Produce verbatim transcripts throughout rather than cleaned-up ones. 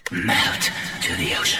Melt to the ocean.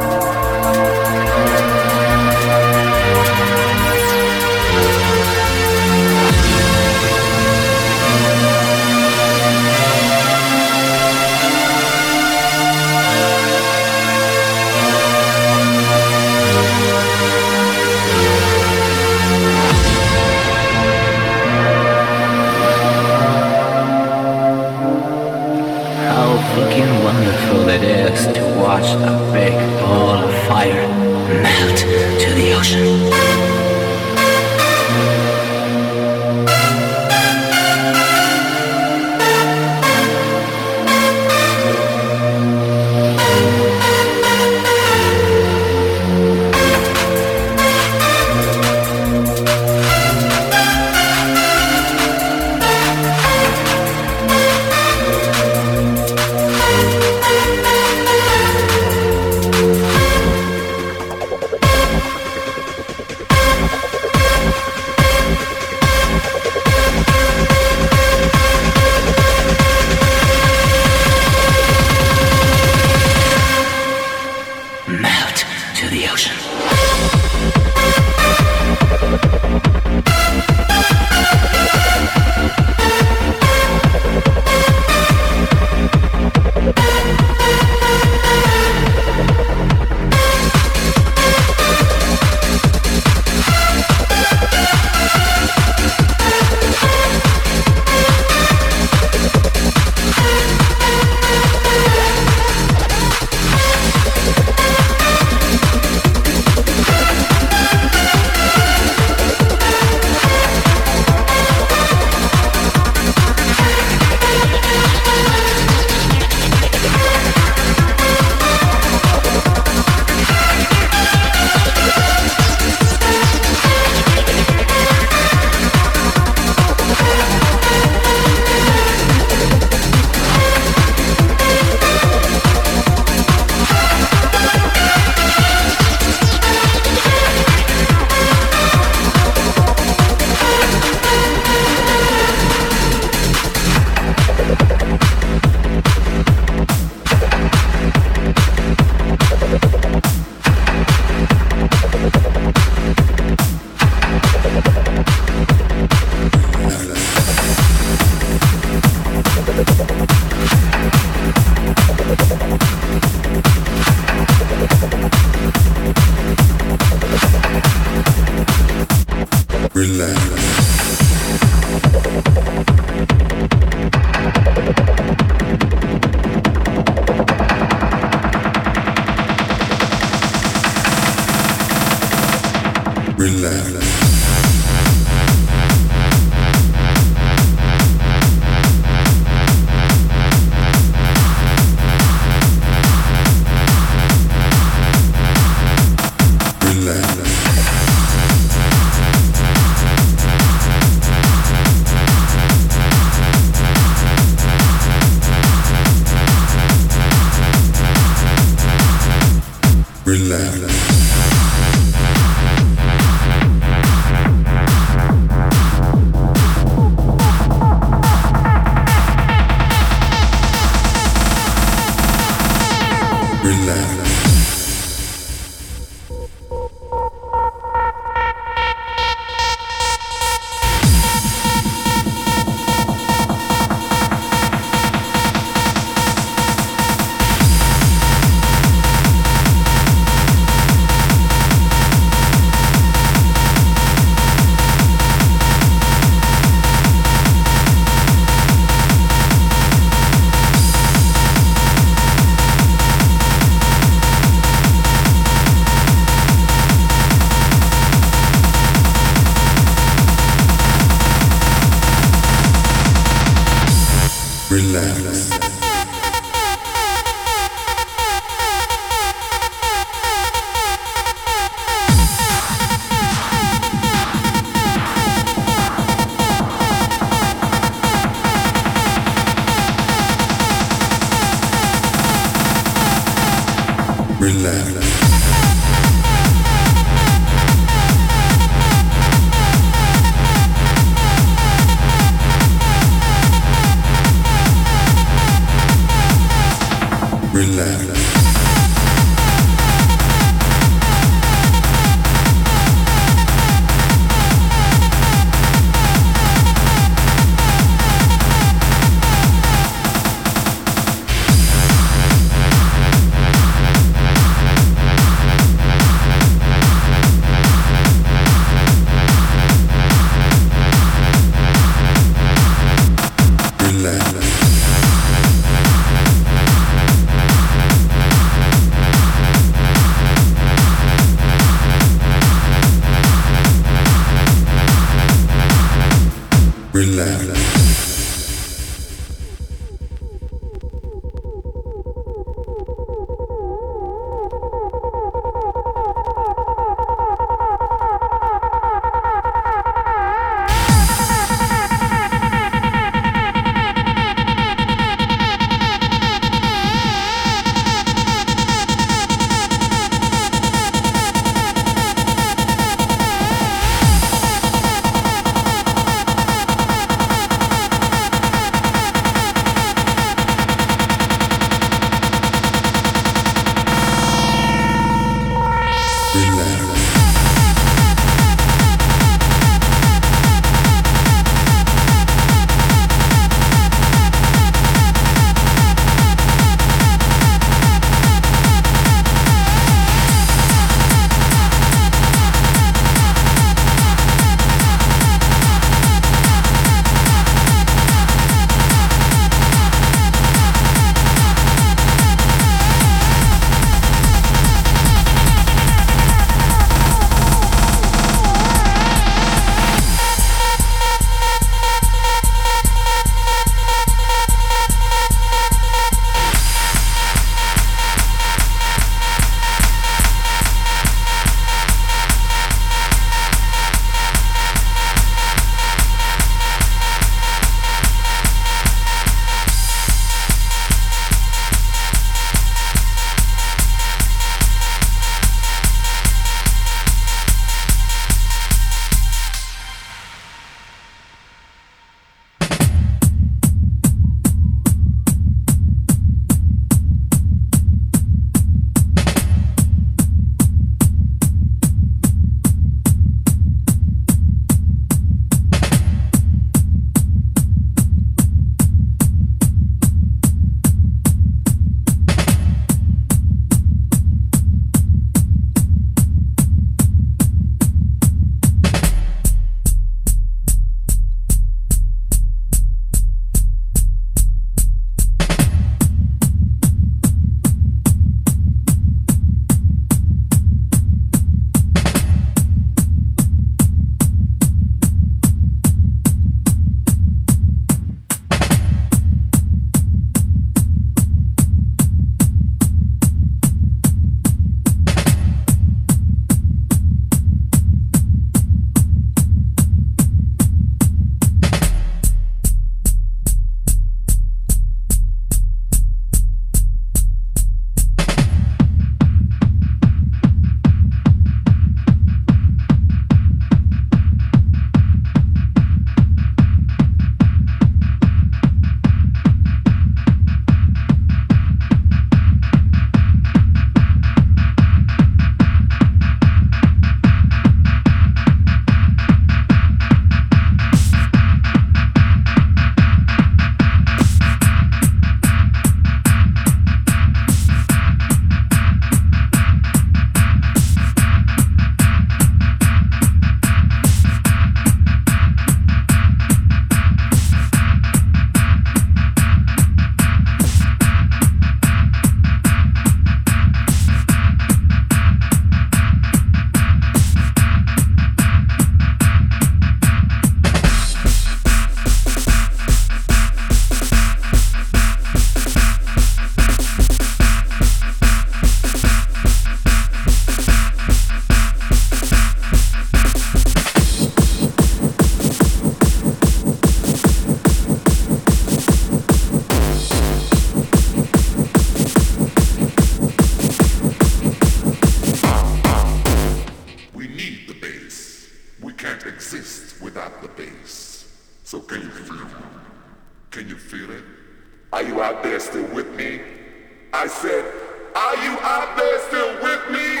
Are you out there still with me? I said, are you out there still with me?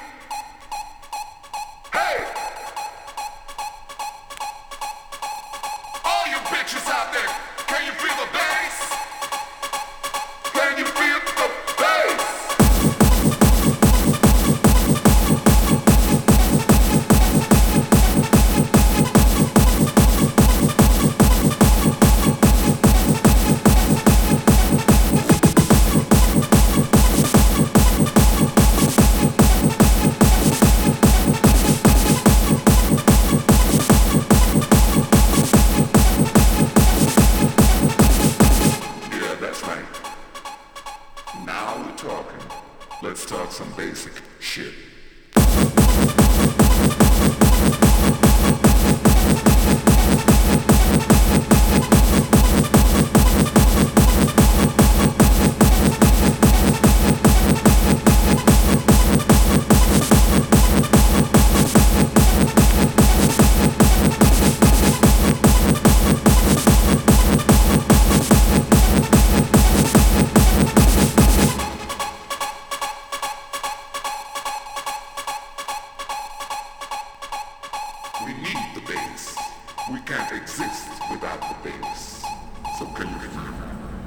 Hey! All you bitches out there, can you feel the bass? Can you feel the bass? Let's talk some basic shit. We need the bass. We can't exist without the bass. So can you feel it?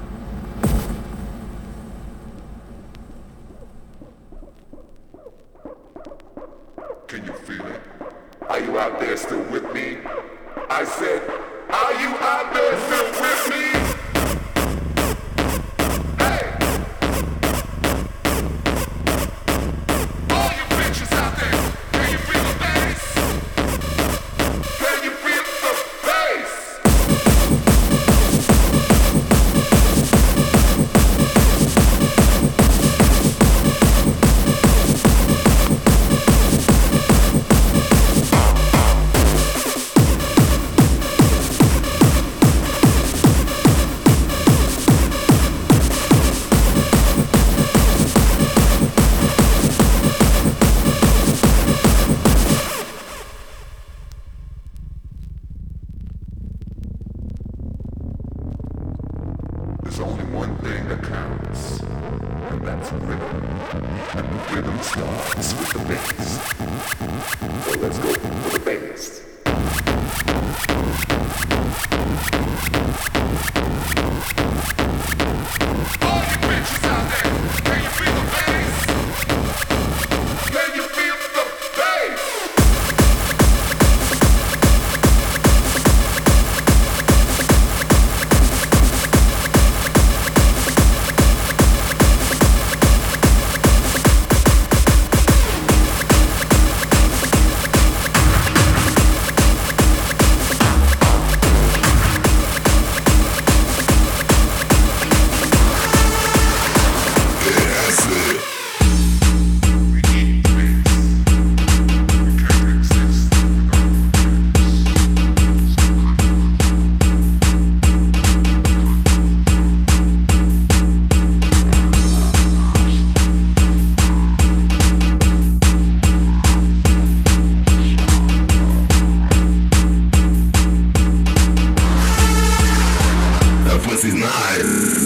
Can you feel it? Are you out there still with me? I said, are you out there still with me? Hey! All you bitches out there, can you feel the bass? Can you feel the bass? There's only one thing that counts, and that's rhythm. And the rhythm starts with the bass. So let's go for the bass. All you bitches out there, can you feel the bass? Can you feel the bass? Pussy's nice.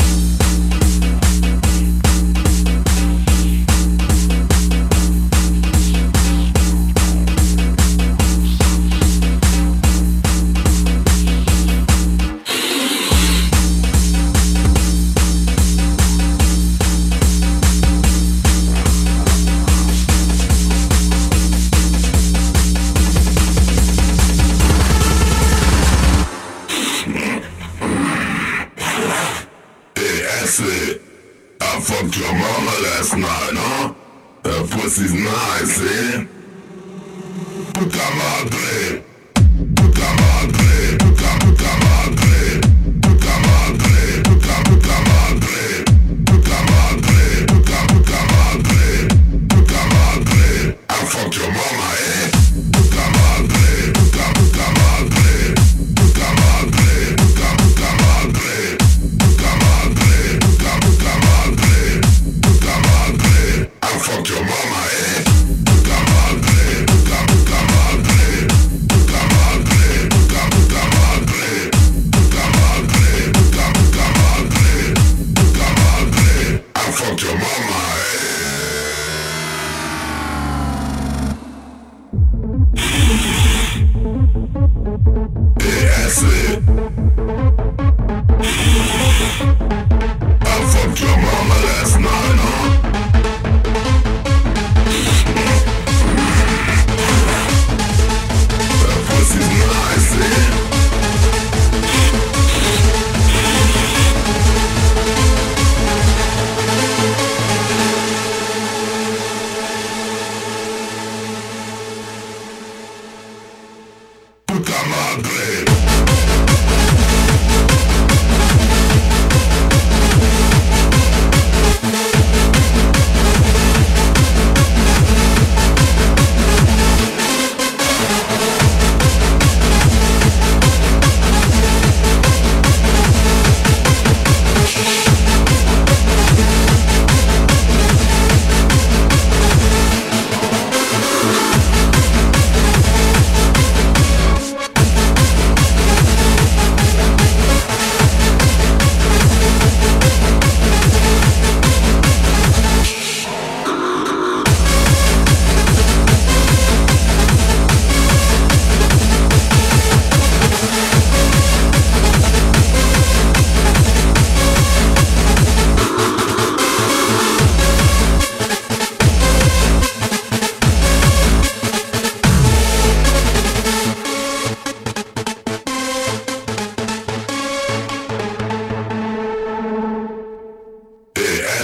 I fucked your mama last night, huh? That pussy's nice, eh? Puta madre, puta madre, puta puta madre, puta madre, puta puta madre, puta madre, puta puta madre, puta madre. I fucked your mama, eh? Puta madre, puta puta madre, puta madre, puta puta madre, puta madre, puta puta madre, puta madre. I fucked your mama, eh? Puta madre, puta puta madre, puta madre, puta puta madre.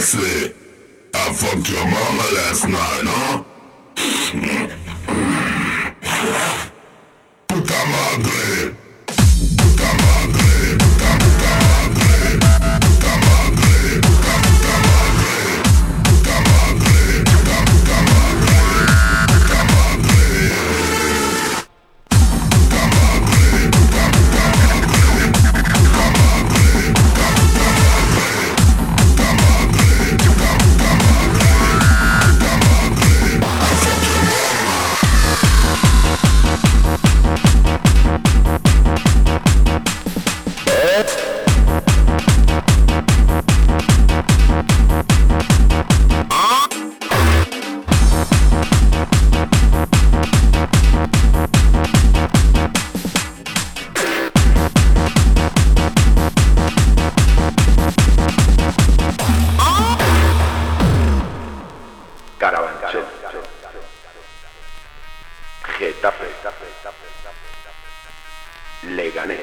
say, I fucked your mama last night, huh? Puta madre. Puta madre. Puta puta madre. Puta madre. Puta puta madre. Puta madre. Puta puta madre. Puta madre. Puta madre. Puta puta madre. Puta madre. Puta puta madre. Puta madre. Puta puta madre. Puta madre. I fucked your Carabanchel, Getafe, Leganés,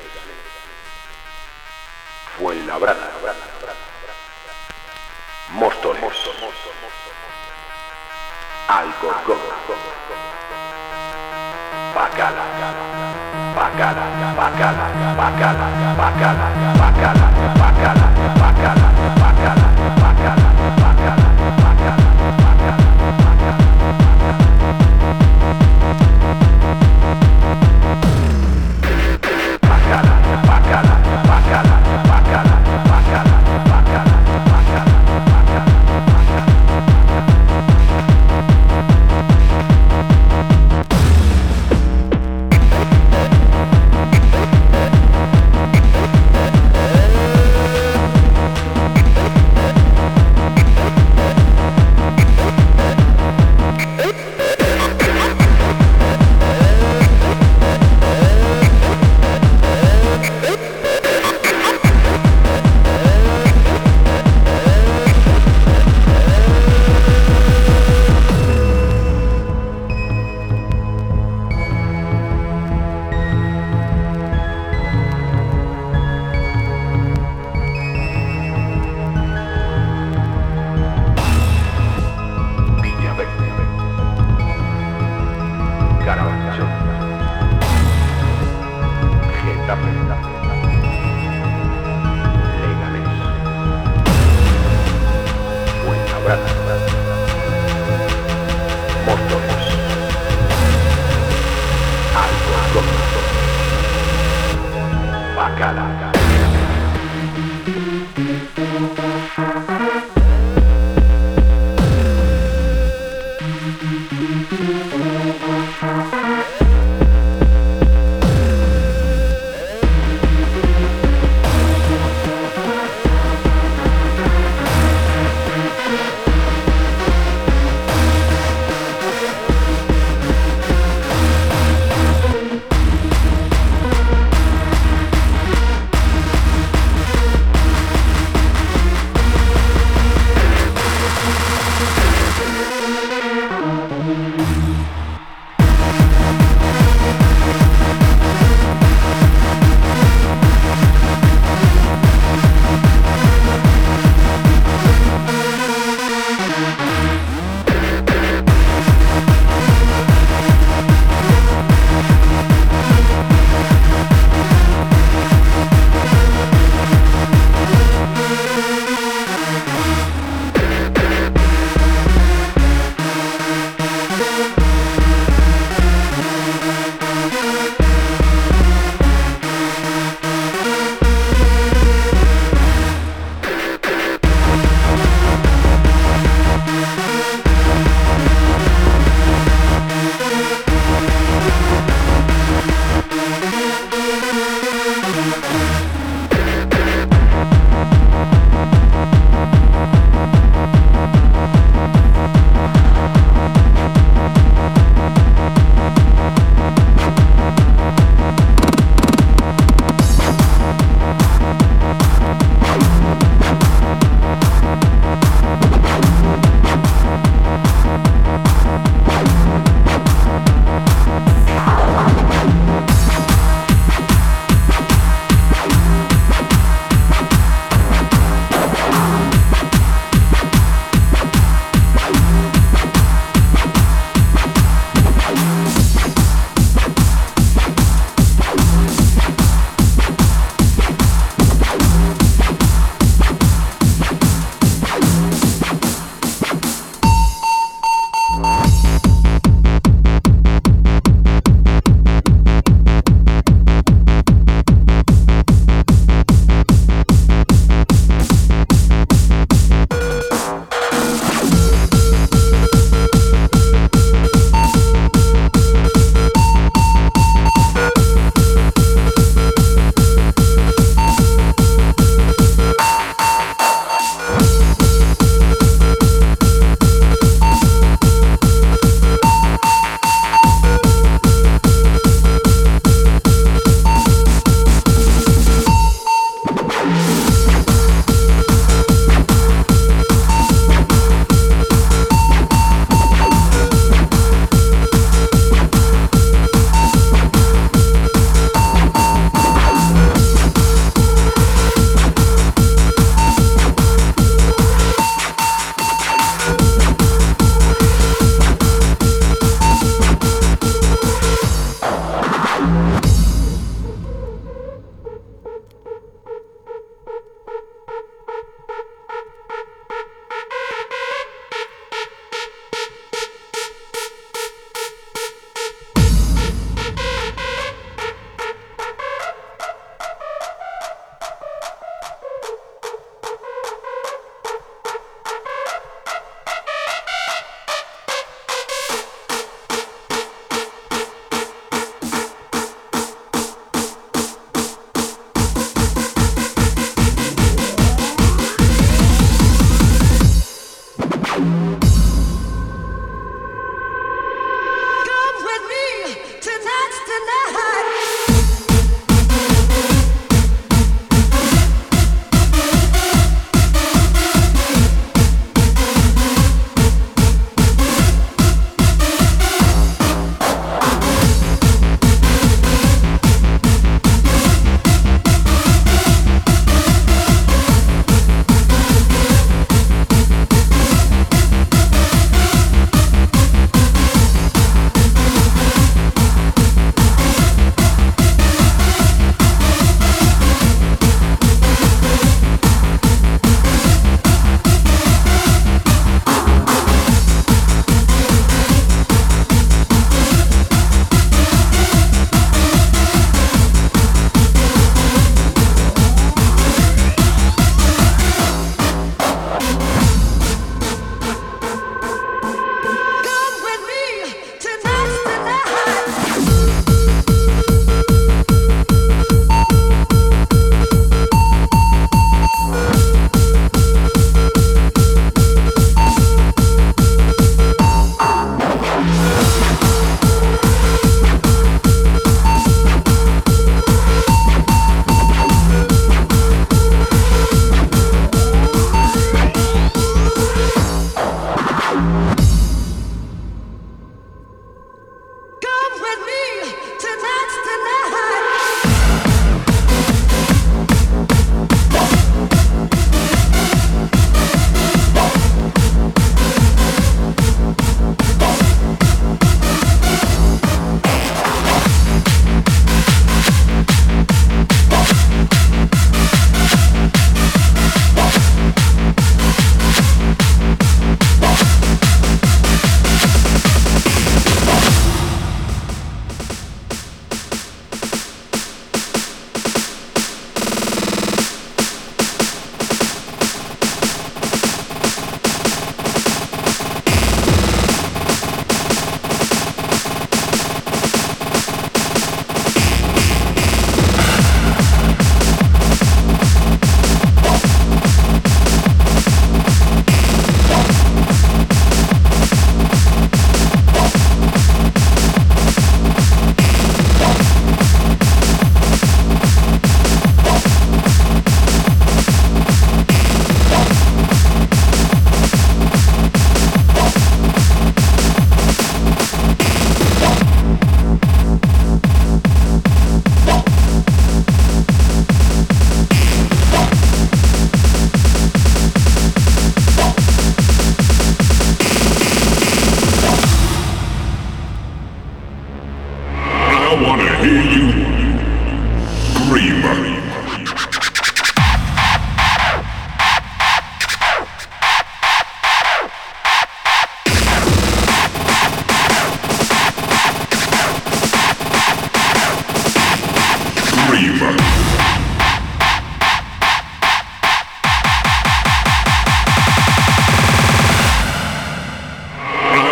Fuenlabrada, Móstoles, Alcorcón, Bacala, Bacala, Bacala, Bacala, Bacala, Bacala, Bacala, Bacala, Bacala, Bacala, Bacala, Bacala.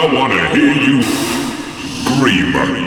I wanna hear you scream.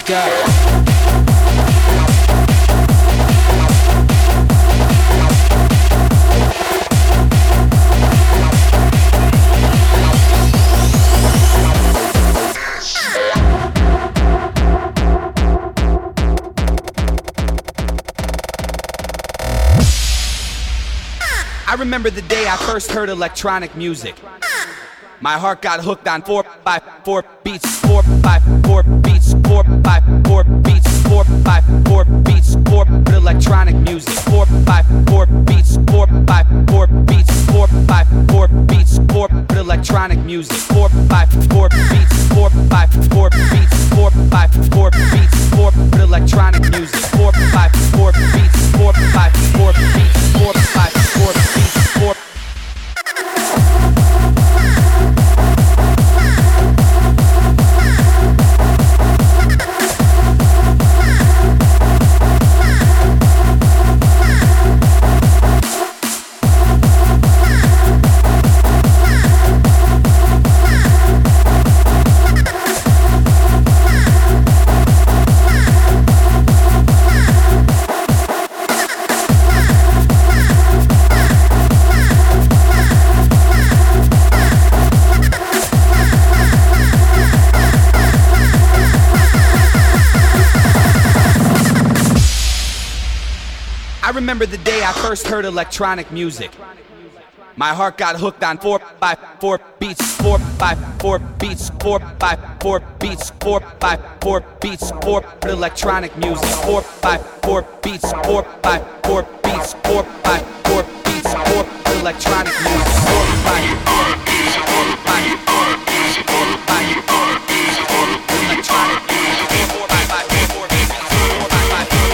go. I remember the day I first heard electronic music. My heart got hooked on four by four beats, four by four beats, four by four beats, four by four beats, four electronic music, four by four beats, four by four beats, four by four beats, four electronic music, four by four beats, four by four beats, four by four beats, four electronic music, four by four beats, four by four beats, four by four beats, four. I remember the day I first heard electronic music. My heart got hooked on four by four beats, four by four beats, four by four beats, four by four beats, four electronic music, four by four beats, four by four beats, four by four beats, four electronic music, four by four beats, four by four beats, four by four beats, four electronic music, four by four beats, four by four beats, four by four beats.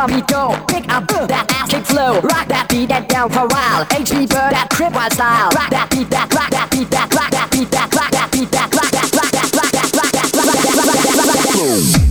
drum beat go. Pick up uh, that ass kick flow. Rock that beat that down for a while. H B Bird that crib wild style. Rock that beat that, rock that beat that, rock that beat that, rock that beat that, rock that, rock that, rock that, rock that, rock that, rock that, rock that, rock that, rock that.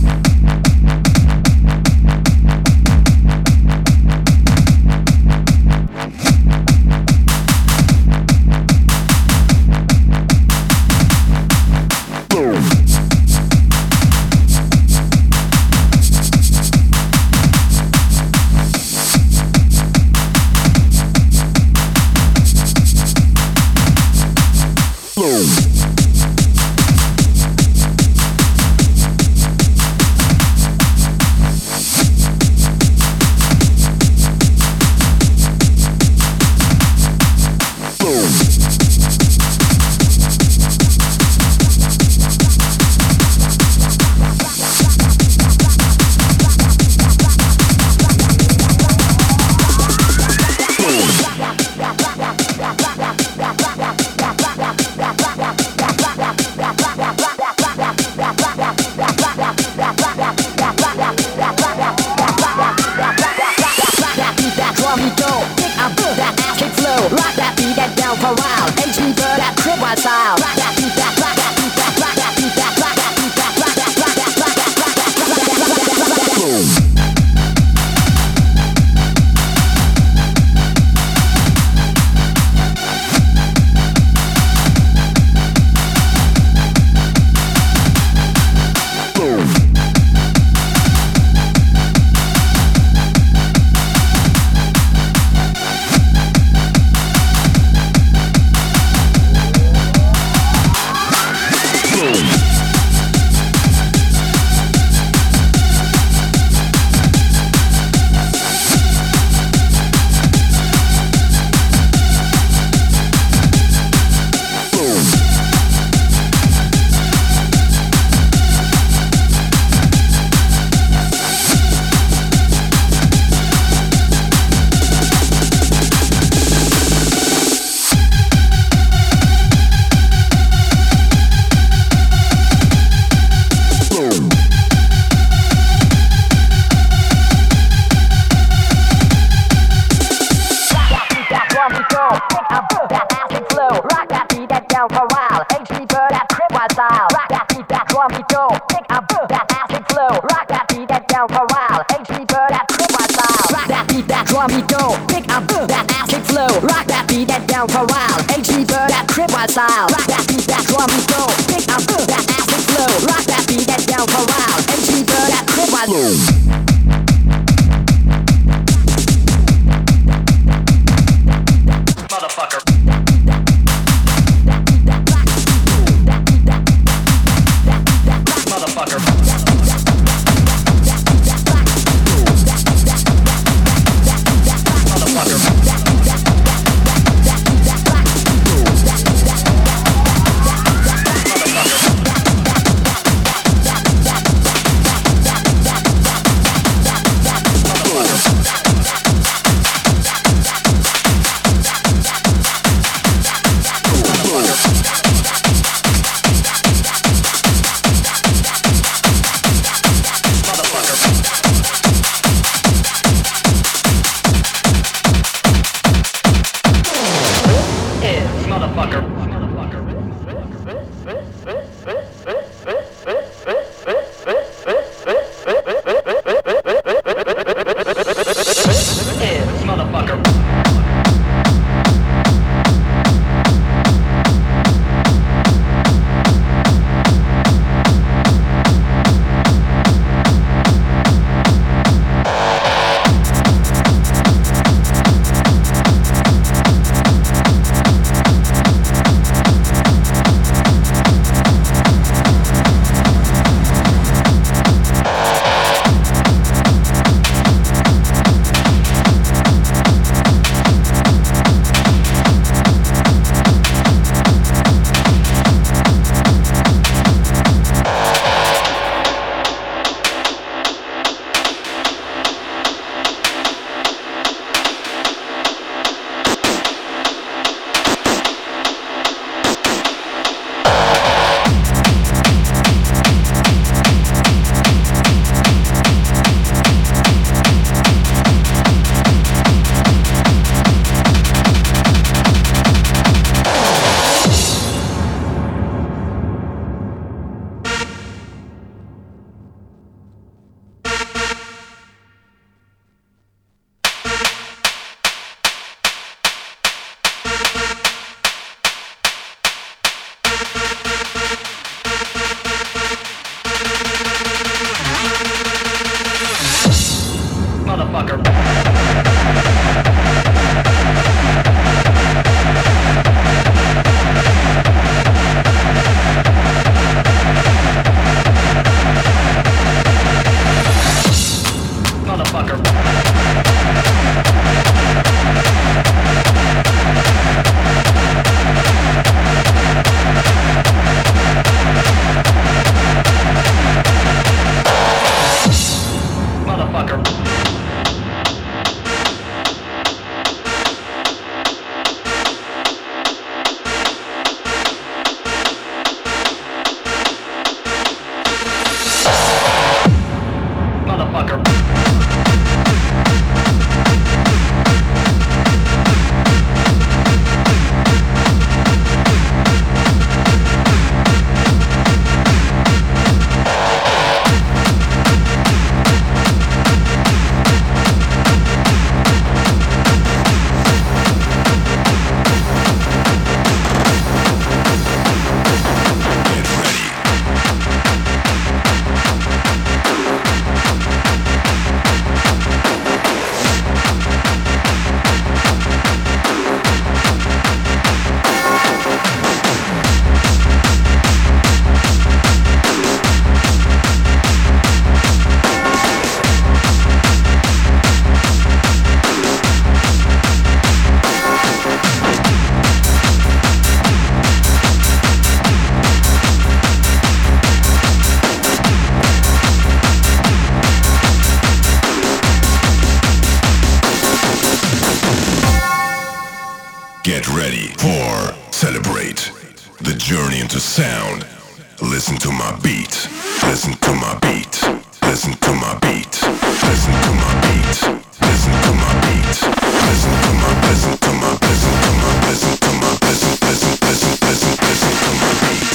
Listen to my beat. Listen to my beat. Listen to my beat. Listen to my beat. Listen to my listen to my listen to my listen to my listen listen listen listen listen to my beat.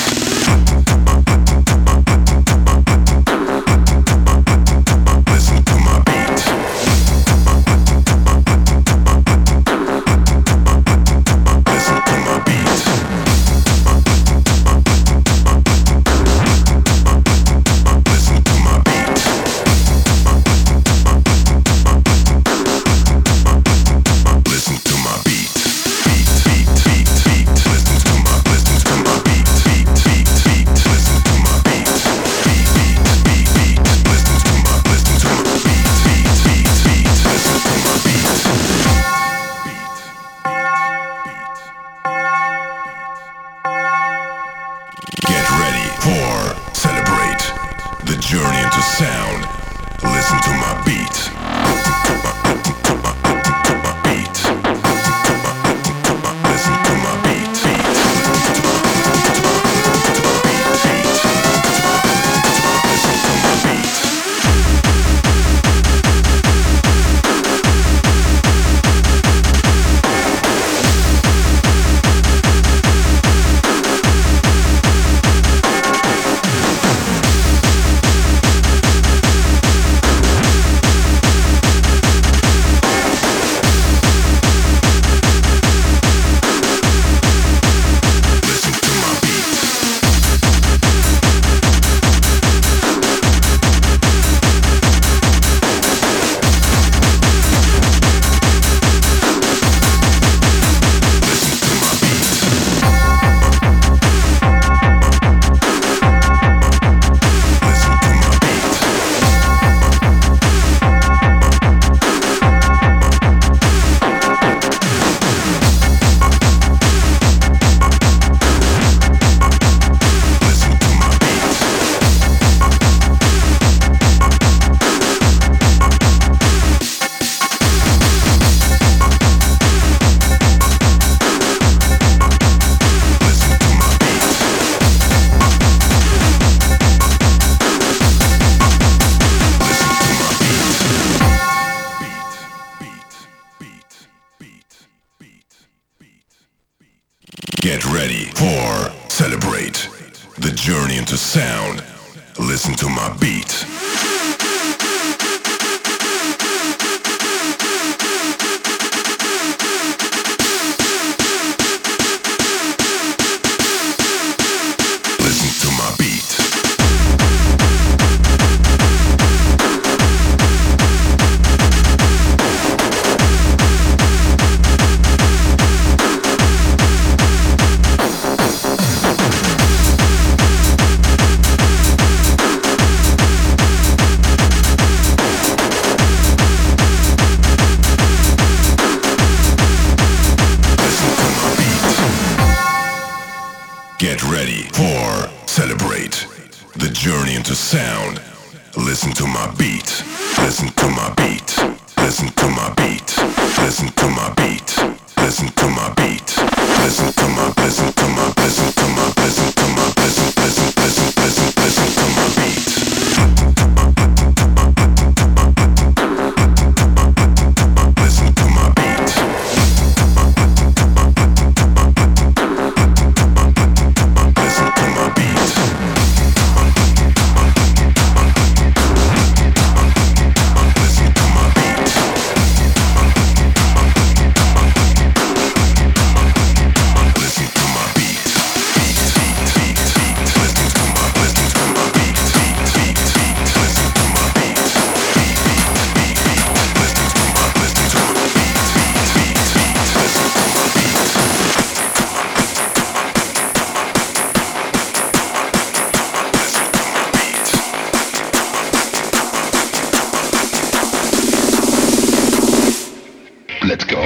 Listen to my beat. Listen to my beat. Listen to my beat. Listen to my beat. Beat, beat, beat, beat. Listen to my, listen to my beat. Beat, beat, beat. Listen to my beat. Beat, beat, beat, beat. Listen to my, listen to my beat. Beat, beat, beat. Listen to my beat. Get ready for celebrate the journey into sound. Listen to my beat. Listen to my, listen to my, listen to my beat. Listen to my beat. Beat. Listen to my, listen to my, listen to my beat. Beat. Listen to my beat. Listen to my beat. Listen to my beat. Listen to my beat. Listen to my beat. Listen to my beat. Listen to my beat. Beat, beat, beat, beat, beat, beat. Get ready for celebrate the journey into sound. Listen to my beat. Listen to my beat. Listen to my beat. Get ready for celebrate the journey into sound. Listen to my beat. Listen to my beat. Listen to my beat. Listen to my beat. Listen to my beat. Listen to my listen to my listen to my listen to my listen listen listen listen listen to my beat. Listen to my beat. Listen to my beat. Listen to my beat. Listen to my beat. Beat, beat, beat, beat. Listen to my, listen to my beat. Beat, beat, beat. Listen to my beat. Beat, beat, beat, beat. Listen to my, listen to my beat. Beat, beat, beat. Listen to my beat. Let's go.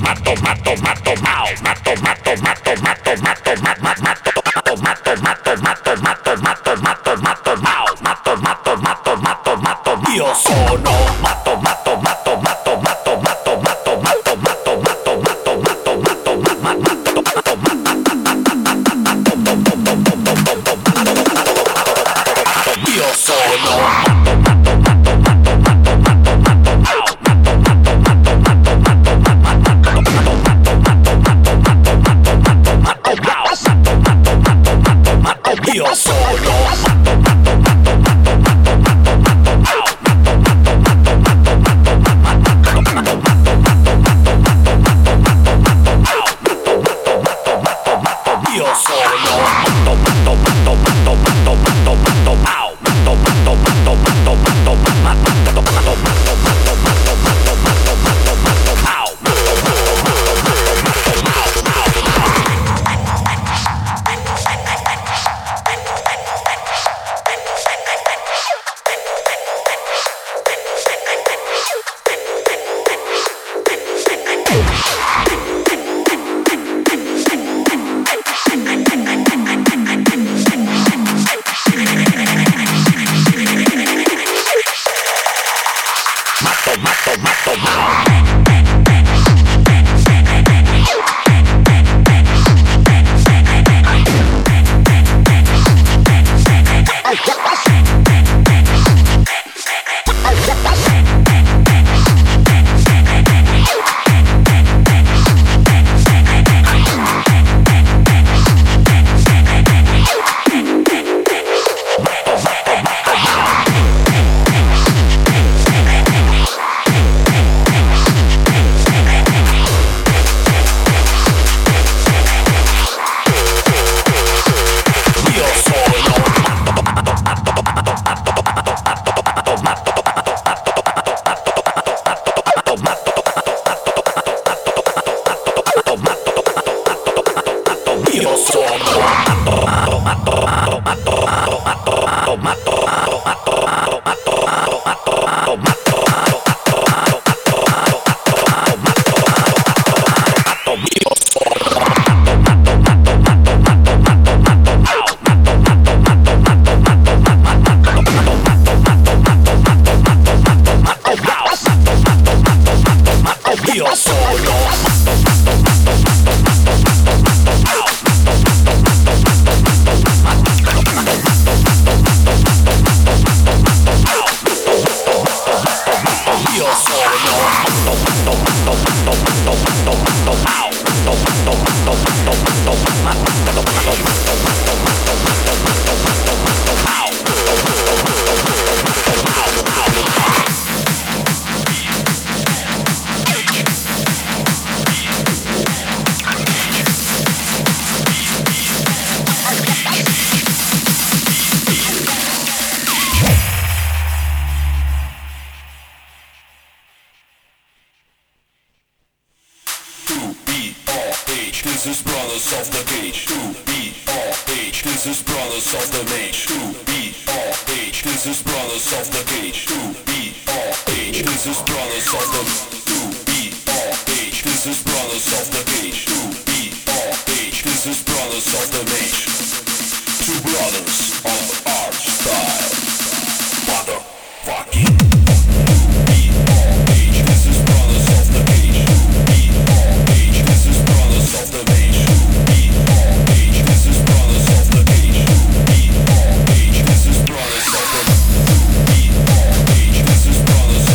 mato, mato, mato, mao, mato, mato, mato, mato, mato, mato, mato, mato, mato, mato, mato, mato, mato, mato, mato, mao, mato, mato, mato, mato, mato, io sono mato, mato, mato, mato, mato, mato, mato, mato, mato, mato, mato, mato, mato, mato, mato, io sono mato, mato, mato, mato, mato, mato, mato, mao, mato, mato, mato, mato, mato, io sono matto, matto, matto, matto, matto, matto, matto, matto, matto, matto, matto, matto, io sono matto, matto, matto, matto, matto, matto, matto, matto, matto, matto, matto, matto, matto, matto,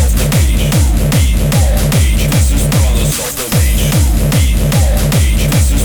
This is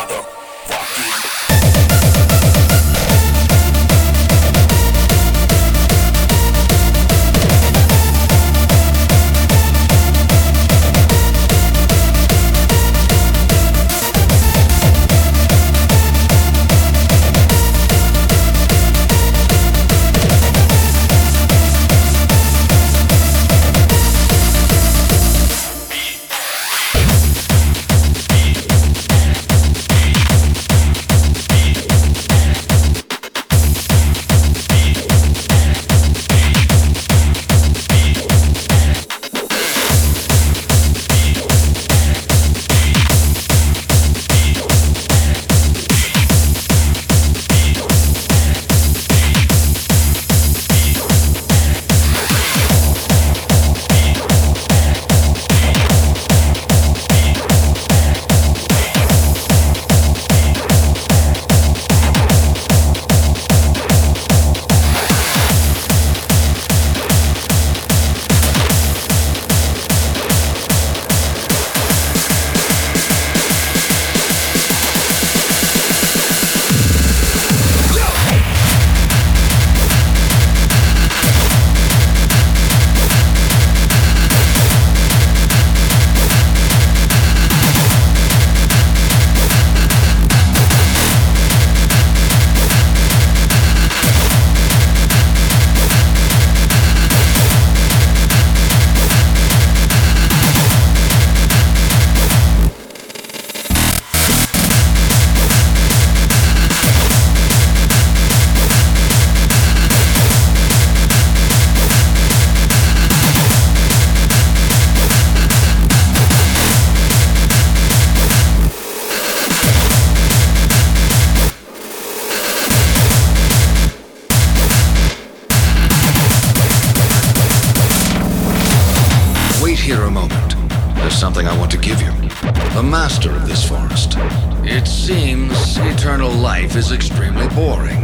here a moment. There's something I want to give you. The master of this forest. It seems eternal life is extremely boring.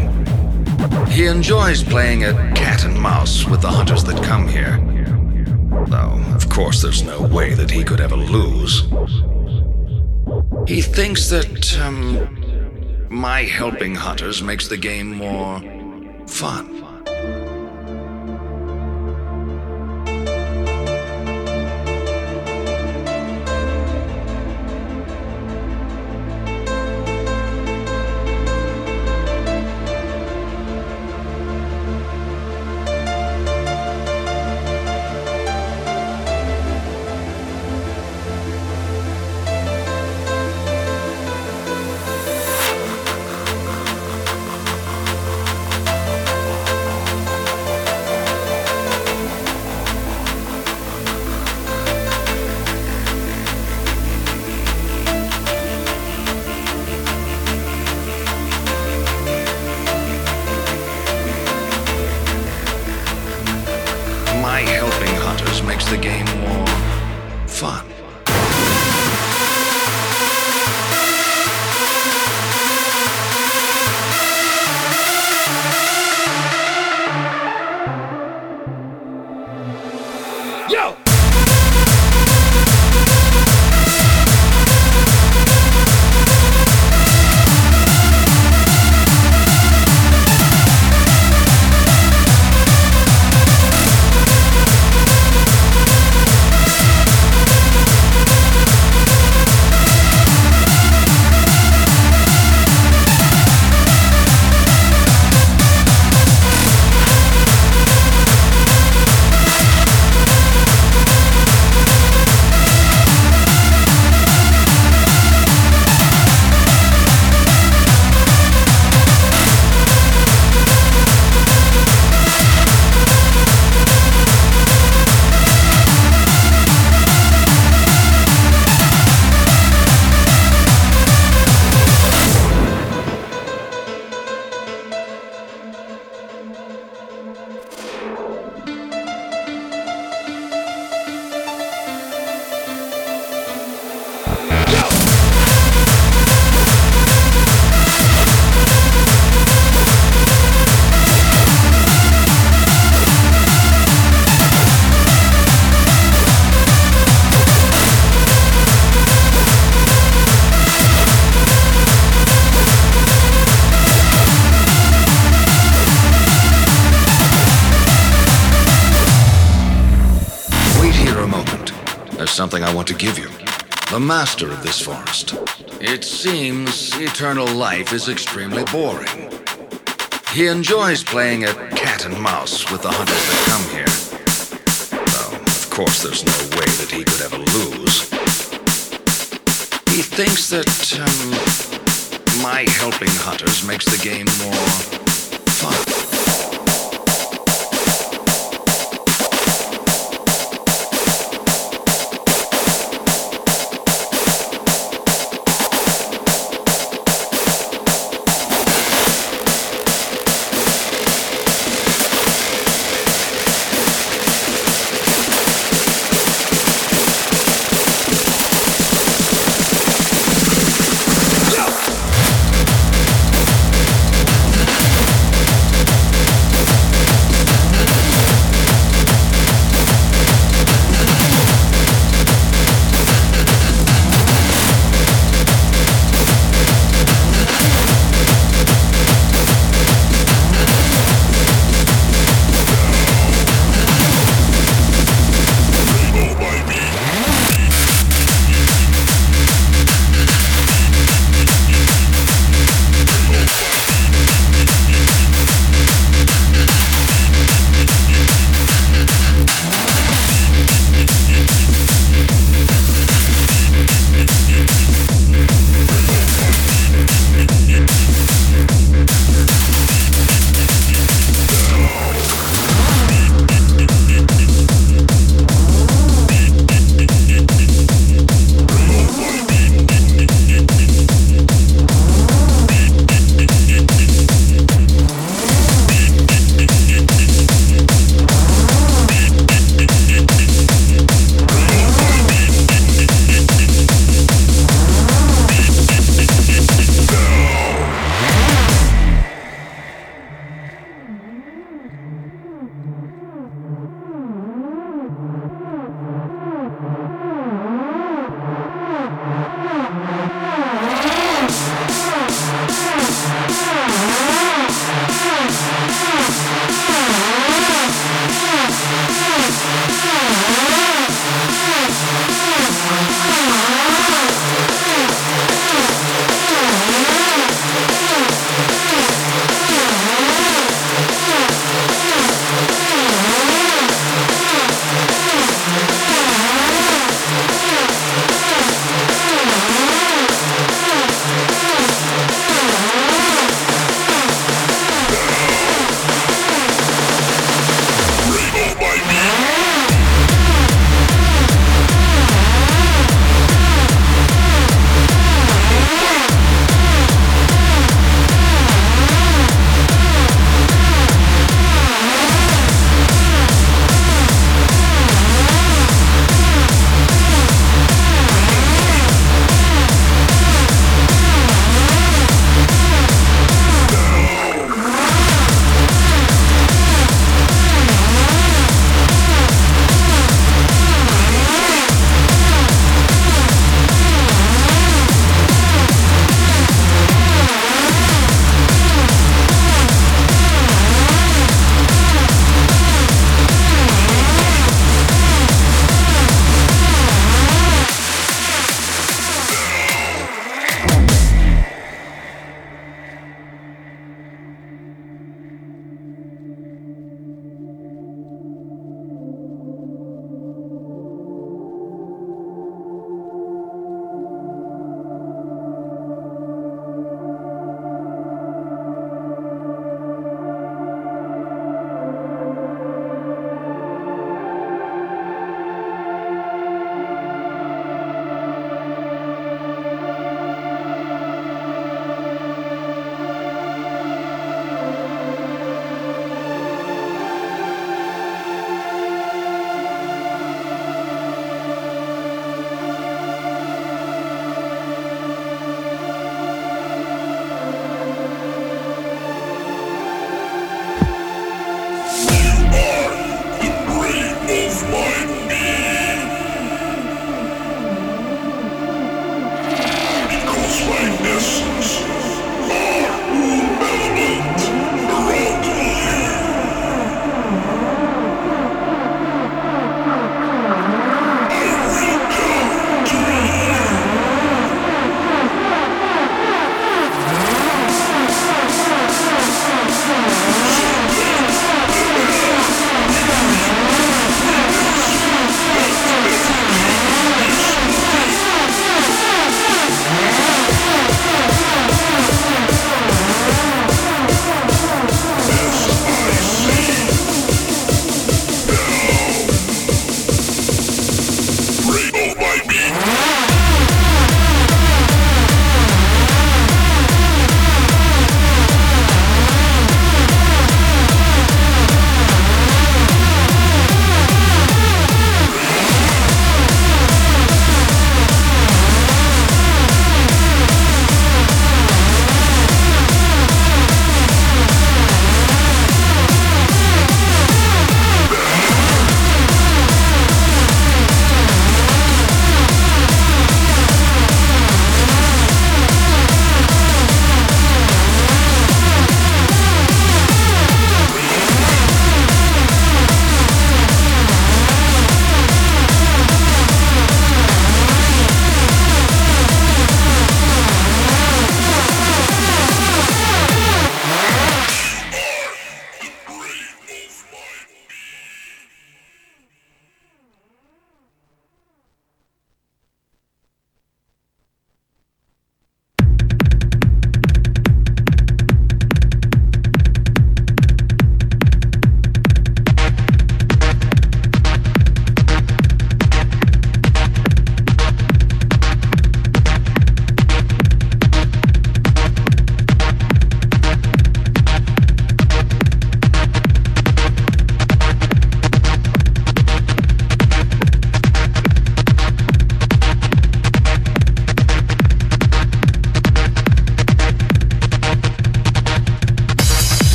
He enjoys playing at cat and mouse with the hunters that come here. Though, of course, there's no way that he could ever lose. He thinks that, um, my helping hunters makes the game more fun. something I want to give you. The master of this forest. It seems eternal life is extremely boring. He enjoys playing at cat and mouse with the hunters that come here. Though, of course, there's no way that he could ever lose. He thinks that um, my helping hunters makes the game more fun.